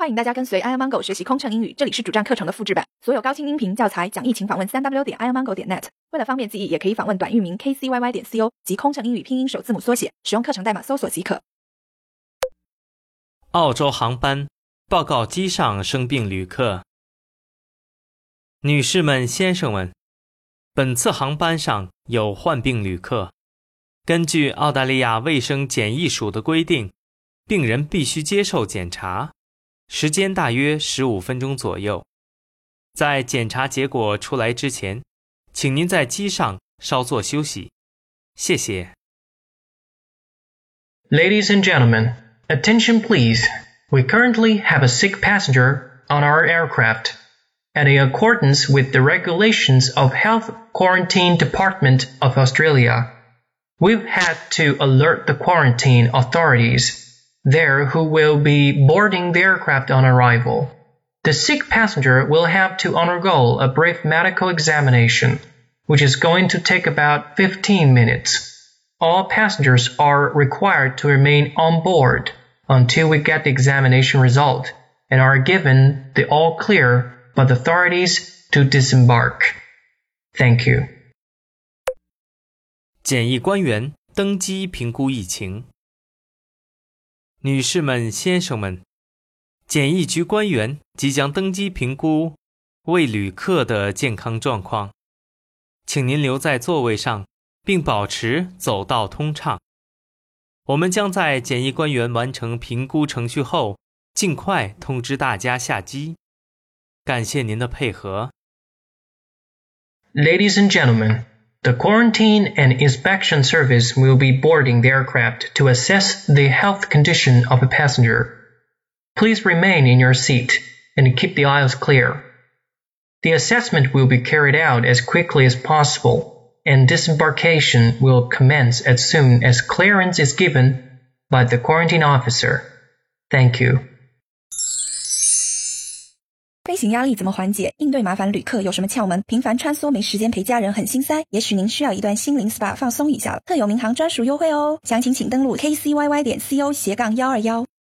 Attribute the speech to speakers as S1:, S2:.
S1: 欢迎大家跟随 iomongo 学习空乘英语，这里是主站课程的复制版，所有高清音频教材讲义请访问 3w.iomongo.net。为了方便记忆，也可以访问短域名 kcyy.co 及空乘英语拼音首字母缩写，使用课程代码搜索即可。
S2: 澳洲航班报告机上生病旅客。女士们、先生们，本次航班上有患病旅客。根据澳大利亚卫生检疫署的规定，病人必须接受检查，时间大约15分钟左右。在检查结果出来之前，请您在机上稍作休息。谢谢。
S3: Ladies and gentlemen, attention please. We currently have a sick passenger on our aircraft. And in accordance with the regulations of Health Quarantine Department of Australia, we've had to alert the quarantine authorities there who will be boarding the aircraft on arrival. The sick passenger will have to undergo a brief medical examination, which is going to take about 15 minutes. All passengers are required to remain on board until we get the examination result and are given the all clear by the authorities to disembark. Thank you.
S2: 检疫官员登机评估疫情。女士们、先生们，检疫局官员即将登机评估为旅客的健康状况，请您留在座位上，并保持走道通畅。我们将在检疫官员完成评估程序后，尽快通知大家下机。感谢您的配合。
S3: Ladies and gentlemen, the Quarantine and Inspection Service will be boarding the aircraft to assess the health condition of a passenger. Please remain in your seat and keep the aisles clear. The assessment will be carried out as quickly as possible, and disembarkation will commence as soon as clearance is given by the quarantine officer. Thank you.
S1: 飞行压力怎么缓解？应对麻烦旅客有什么窍门？频繁穿梭没时间陪家人很心塞，也许您需要一段心灵 SPA 放松一下了。特有民航专属优惠哦，详情请登录 kcyy.co/121。